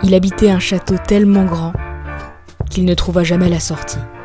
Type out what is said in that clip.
Il habitait un château tellement grand qu'il ne trouva jamais la sortie.